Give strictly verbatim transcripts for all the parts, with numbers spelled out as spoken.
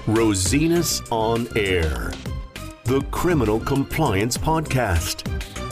Rosinus on Air, the Criminal Compliance Podcast.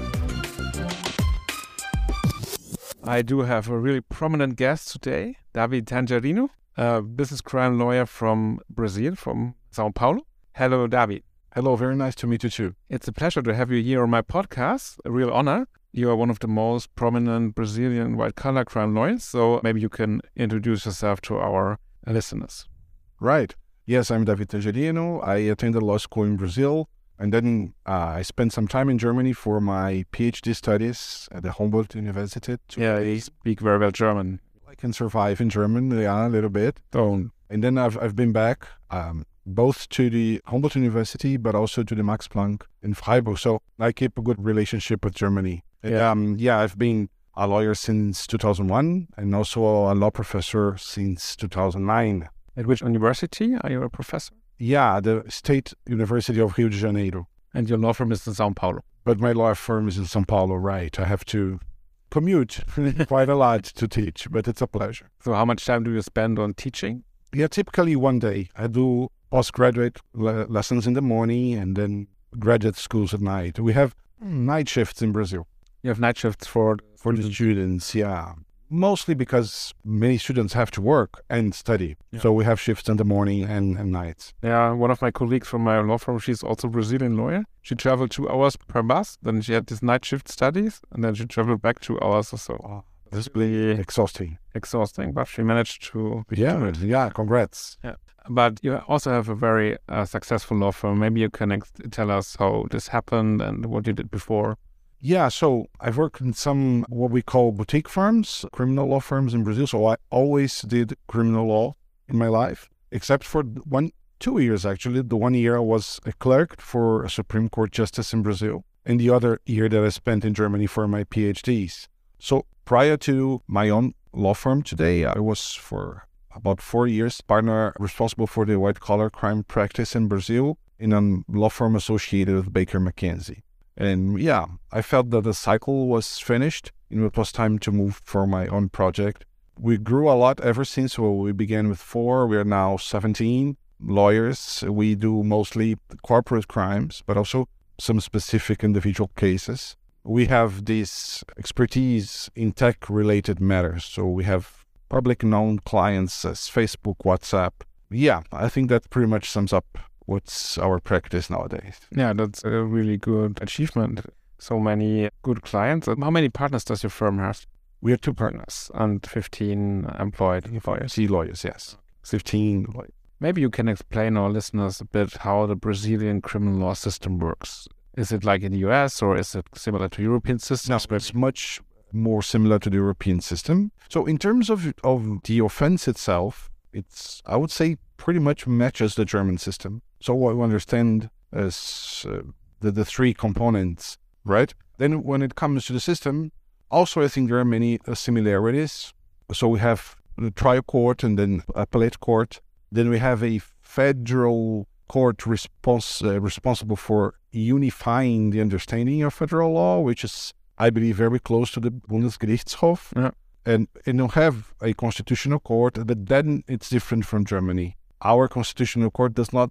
I do have a really prominent guest today, David Tangerino, a business crime lawyer from Brazil, from Sao Paulo. Hello, David. Hello, very nice to meet you too. It's a pleasure to have you here on my podcast, a real honor. You are one of the most prominent Brazilian white-collar crime lawyers, so maybe you can introduce yourself to our listeners. Right. Yes, I'm David Tangerino. I attended law school in Brazil, and then uh, I spent some time in Germany for my PhD studies at the Humboldt University. Yeah, you speak very well German. I can survive in German, yeah, a little bit. Don't. And then I've I've been back um, both to the Humboldt University, but also to the Max Planck in Freiburg. So I keep a good relationship with Germany. Yeah. Um, yeah, I've been a lawyer since two thousand one and also a law professor since two thousand nine. At which university are you a professor? Yeah, the State University of Rio de Janeiro. And your law firm is in Sao Paulo. But my law firm is in Sao Paulo, right? I have to commute quite a lot to teach, but it's a pleasure. So how much time do you spend on teaching? Yeah, typically one day. I do postgraduate le- lessons in the morning and then graduate schools at night. We have night shifts in Brazil. You have night shifts for... For the students, yeah. Mostly because many students have to work and study. Yeah. So we have shifts in the morning and, and nights. Yeah, one of my colleagues from my law firm, she's also a Brazilian lawyer. She traveled two hours per bus, then she had this night shift studies, and then she traveled back two hours or so. Oh, that's really exhausting. Exhausting, but she managed to... Yeah, yeah, congrats. Yeah. But you also have a very uh, successful law firm. Maybe you can ex- tell us how this happened and what you did before. Yeah, so I've worked in some what we call boutique firms, criminal law firms in Brazil. So I always did criminal law in my life, except for one, two years actually. The one year I was a clerk for a Supreme Court justice in Brazil, and the other year that I spent in Germany for my PhDs. So prior to my own law firm today, I was for about four years partner responsible for the white-collar crime practice in Brazil in a law firm associated with Baker McKenzie. And yeah, I felt that the cycle was finished and it was time to move for my own project. We grew a lot ever since. So we began with four. We are now seventeen lawyers. We do mostly corporate crimes, but also some specific individual cases. We have this expertise in tech-related matters. So we have public known clients as Facebook, WhatsApp. Yeah, I think that pretty much sums up what's our practice nowadays. Yeah, that's a really good achievement. So many good clients. How many partners does your firm have? We have two partners. And fifteen employed lawyers. fifteen lawyers, yes. fifteen lawyers. Maybe you can explain our listeners a bit how the Brazilian criminal law system works. Is it like in the U S or is it similar to European systems? No, it's much more similar to the European system. So in terms of, of the offense itself, it's, I would say, pretty much matches the German system. So what we understand as uh, the, the three components, right? Then when it comes to the system, also I think there are many uh, similarities. So we have the trial court and then appellate court. Then we have a federal court respons- uh, responsible for unifying the understanding of federal law, which is, I believe, very close to the Bundesgerichtshof. Yeah. And, and you have a constitutional court, but then it's different from Germany. Our constitutional court does not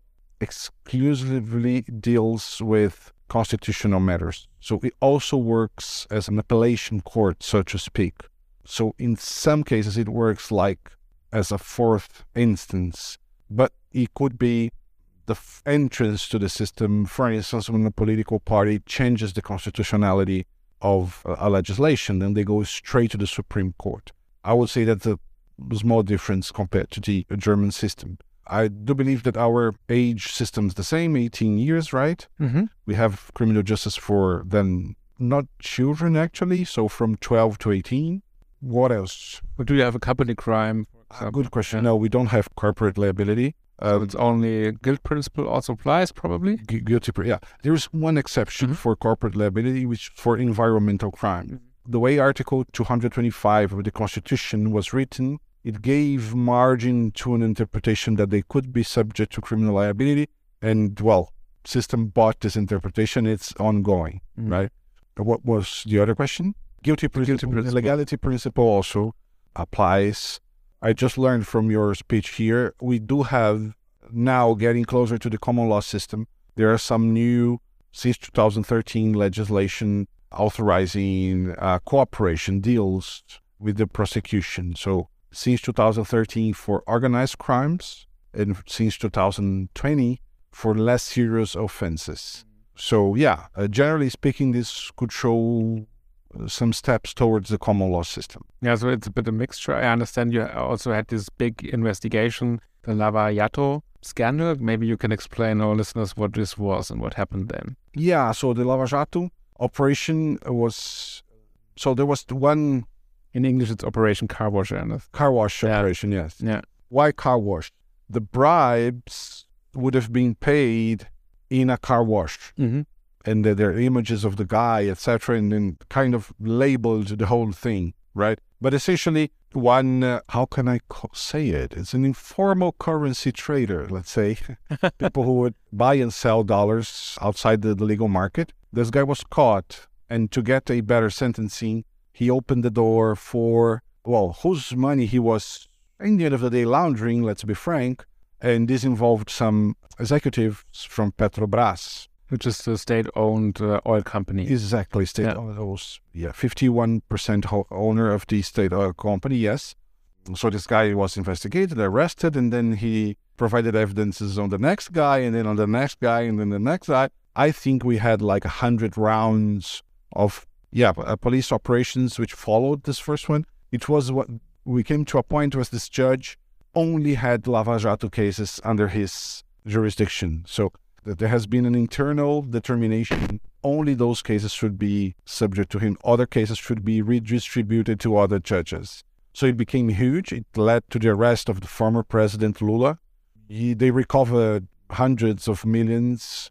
exclusively deals with constitutional matters. So it also works as an appellation court, so to speak. So in some cases, it works like as a fourth instance, but it could be the f- entrance to the system. For instance, when a political party changes the constitutionality of a, a legislation, then they go straight to the Supreme Court. I would say that's a small difference compared to the German system. I do believe that our age system is the same, eighteen years, right? Mm-hmm. We have criminal justice for then not children, actually, so from twelve to eighteen. What else? But do you have a company crime? Uh, good question. No, we don't have corporate liability. So Um, it's only guilt principle also applies, probably? gu- guilty, pre- yeah. There's one exception Mhm. for corporate liability, which is for environmental crime. The way Article two hundred twenty-five of the Constitution was written, it gave margin to an interpretation that they could be subject to criminal liability. And, well, system bought this interpretation. It's ongoing, Mhm. right? What was the other question? Guilty principle. principle. Legality principle also applies. I just learned from your speech here, we do have now getting closer to the common law system. There are some new, since two thousand thirteen, legislation authorizing uh, cooperation deals with the prosecution. So since two thousand thirteen for organized crimes, and since two thousand twenty for less serious offenses. So yeah, uh, generally speaking, this could show uh, some steps towards the common law system. Yeah, so it's a bit of a mixture. I understand you also had this big investigation, the Lava Jato scandal. Maybe you can explain our listeners what this was and what happened then. Yeah, so the Lava Jato operation was, so there was one... In English, it's Operation Car Wash, Ernest. Car wash yeah. operation, yes. Yeah. Why car wash? The bribes would have been paid in a car wash. Mm-hmm. And there are images of the guy, et cetera, and then kind of labeled the whole thing, right? But essentially, one, uh, how can I co- say it? It's an informal currency trader, let's say. People who would buy and sell dollars outside the, the legal market. This guy was caught, and to get a better sentencing, he opened the door for, well, whose money he was, in the end of the day, laundering, let's be frank. And this involved some executives from Petrobras. Which is the state-owned uh, oil company. Exactly, state-owned. Yeah. yeah, fifty-one percent ho- owner of the state oil company, yes. So this guy was investigated, arrested, and then he provided evidences on the next guy, and then on the next guy, and then the next guy. I think we had like a hundred rounds of Yeah, uh, police operations which followed this first one. It was what we came to a point where this judge only had Lava Jato cases under his jurisdiction. So that there has been an internal determination. Only those cases should be subject to him. Other cases should be redistributed to other judges. So it became huge. It led to the arrest of the former president Lula. He, they recovered hundreds of millions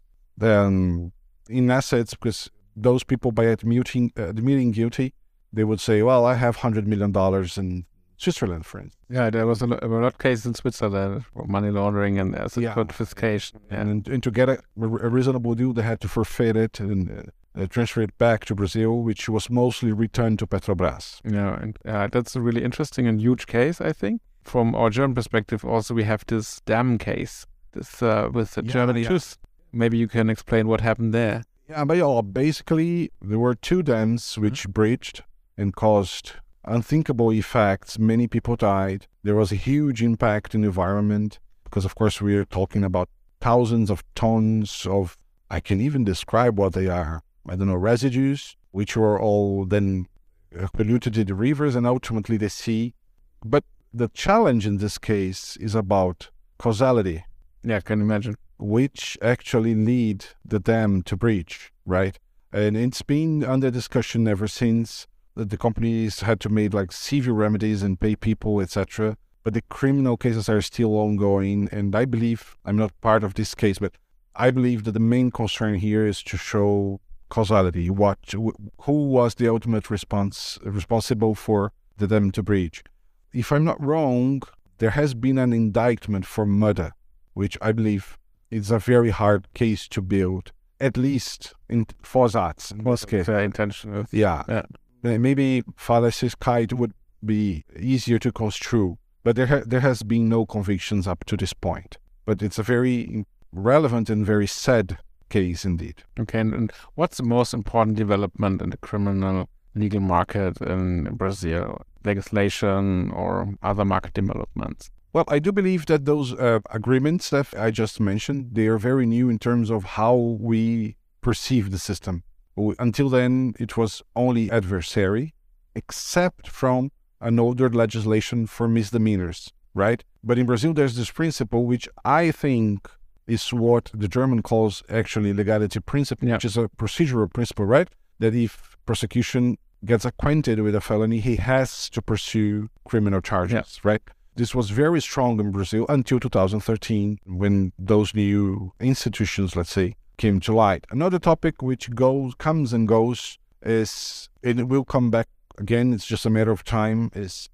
um, in assets because those people, by admitting, uh, admitting guilty, they would say, well, I have one hundred million dollars in Switzerland, for instance. Yeah, there was a lot, a lot of cases in Switzerland for money laundering and asset yeah. confiscation. Yeah. And, and to get a, a reasonable deal, they had to forfeit it and uh, transfer it back to Brazil, which was mostly returned to Petrobras. Yeah, and uh, that's a really interesting and huge case, I think. From our German perspective, also, we have this dam case this uh, with the yeah, German yeah. truth. Maybe you can explain what happened there. Yeah, but yeah, basically, there were two dams which mm-hmm. breached and caused unthinkable effects. Many people died. There was a huge impact in the environment because, of course, we're talking about thousands of tons of, I can even describe what they are, I don't know, residues, which were all then polluted in the rivers and ultimately the sea. But the challenge in this case is about causality. Yeah, I can imagine. Which actually lead the dam to breach, right? And it's been under discussion ever since. That the companies had to make like severe remedies and pay people, et cetera. But the criminal cases are still ongoing. And I believe, I'm not part of this case, but I believe that the main concern here is to show causality. What, who was the ultimate response responsible for the dam to breach? If I'm not wrong, there has been an indictment for murder, which I believe is a very hard case to build, at least in Fosats. Very intentional. Yeah. yeah. Maybe fallacious would be easier to construe, but there ha- there has been no convictions up to this point. But it's a very relevant and very sad case indeed. Okay, and, and what's the most important development in the criminal legal market in Brazil? Legislation or other market developments? Well, I do believe that those uh, agreements that I just mentioned, they are very new in terms of how we perceive the system. Until then, it was only adversary, except from an older legislation for misdemeanors, right? But in Brazil, there's this principle, which I think is what the German calls actually legality principle, yeah. which is a procedural principle, right? That if prosecution gets acquainted with a felony, he has to pursue criminal charges, yeah. right? This was very strong in Brazil until two thousand thirteen, when those new institutions, let's say, came to light. Another topic which goes, comes and goes is, and it will come back again, it's just a matter of time, is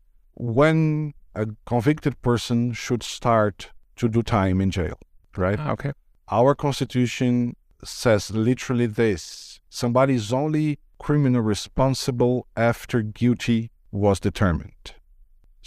when a convicted person should start to do time in jail, right? Ah, okay. Our constitution says literally this: somebody is only criminally responsible after guilty was determined. So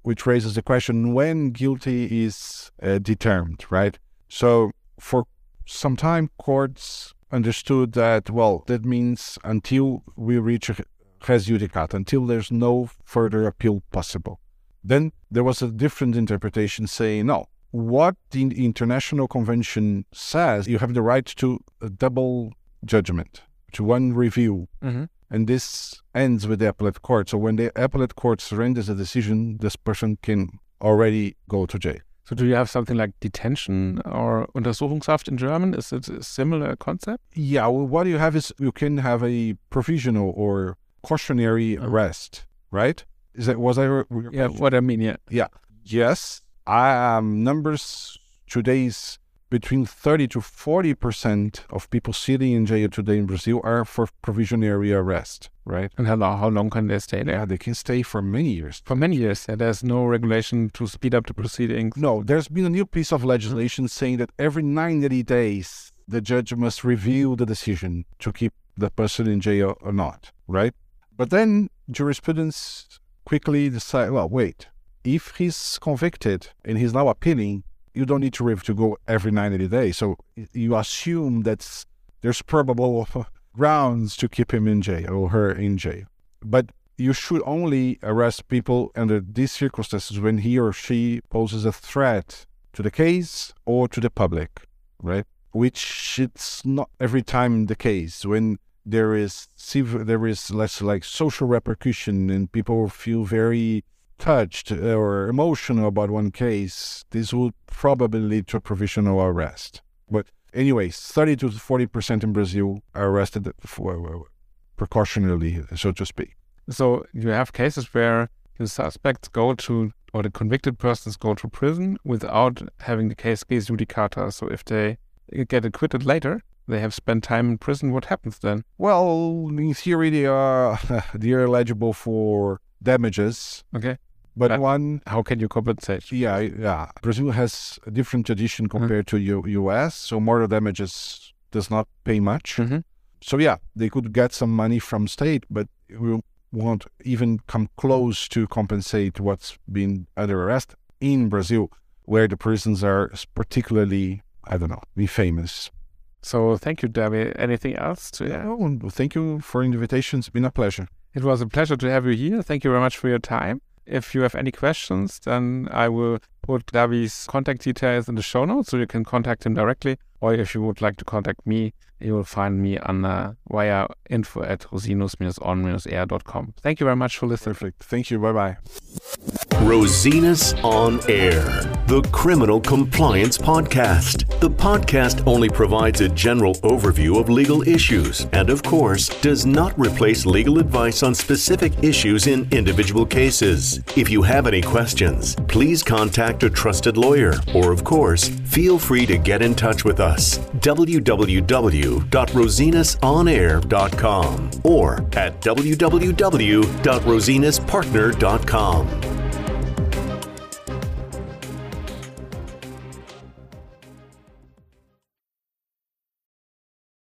which raises the question when guilty is uh, determined, right? So for some time, courts understood that, well, that means until we reach a res judicata, until there's no further appeal possible. Then there was a different interpretation saying, no, what the International Convention says, you have the right to a double judgment, to one review. Mm-hmm. And this ends with the appellate court. So when the appellate court surrenders a decision, this person can already go to jail. So do you have something like detention or Untersuchungshaft in German? Is it a similar concept? Yeah, well, what you have is you can have a provisional or cautionary Oh. arrest, right? Is that was I? Re- Yeah, what I mean, yeah. Yeah. Yes. I, um, numbers today is between thirty to forty percent of people sitting in jail today in Brazil are for provisionary arrest, right? And how long, how long can they stay there? Yeah, they can stay for many years. For many years, yeah, there's no regulation to speed up the proceedings. No, there's been a new piece of legislation saying that every ninety days, the judge must review the decision to keep the person in jail or not, right? But then jurisprudence quickly decide, well, wait, if he's convicted and he's now appealing, you don't need to rev- to go every ninety days. So you assume that there's probable grounds to keep him in jail or her in jail. But you should only arrest people under these circumstances when he or she poses a threat to the case or to the public, right? Which it's not every time the case. When there is there is less like social repercussion and people feel very touched or emotional about one case, this would probably lead to a provisional arrest. But anyways, thirty to forty percent in Brazil are arrested for precautionarily, so to speak. So you have cases where the suspects go to, or the convicted persons go to prison without having the case res judicata. So if they get acquitted later, they have spent time in prison, what happens then? Well, in theory, they are they are eligible for damages. Okay. But Uh, one, How can you compensate? yeah, yeah, Brazil has a different tradition compared to U- U.S. So mortal damages does not pay much. Mm-hmm. So yeah, they could get some money from state, but we won't even come close to compensate what's been under arrest in Brazil, where the prisons are particularly, I don't know, be famous. So thank you, Debbie. Anything else to add? Oh, and thank you for the invitation. It's been a pleasure. It was a pleasure to have you here. Thank you very much for your time. If you have any questions, then I will put Davi's contact details in the show notes so you can contact him directly. Or if you would like to contact me, you will find me on uh, via info at rosinus on air dot com. Thank you very much for listening. Perfect. Thank you. Bye-bye. Rosinus on Air, the Criminal Compliance Podcast. The podcast only provides a general overview of legal issues and, of course, does not replace legal advice on specific issues in individual cases. If you have any questions, please contact a trusted lawyer or, of course, feel free to get in touch with us. w w w dot rosinus on air dot com or at w w w dot rosinus partner dot com.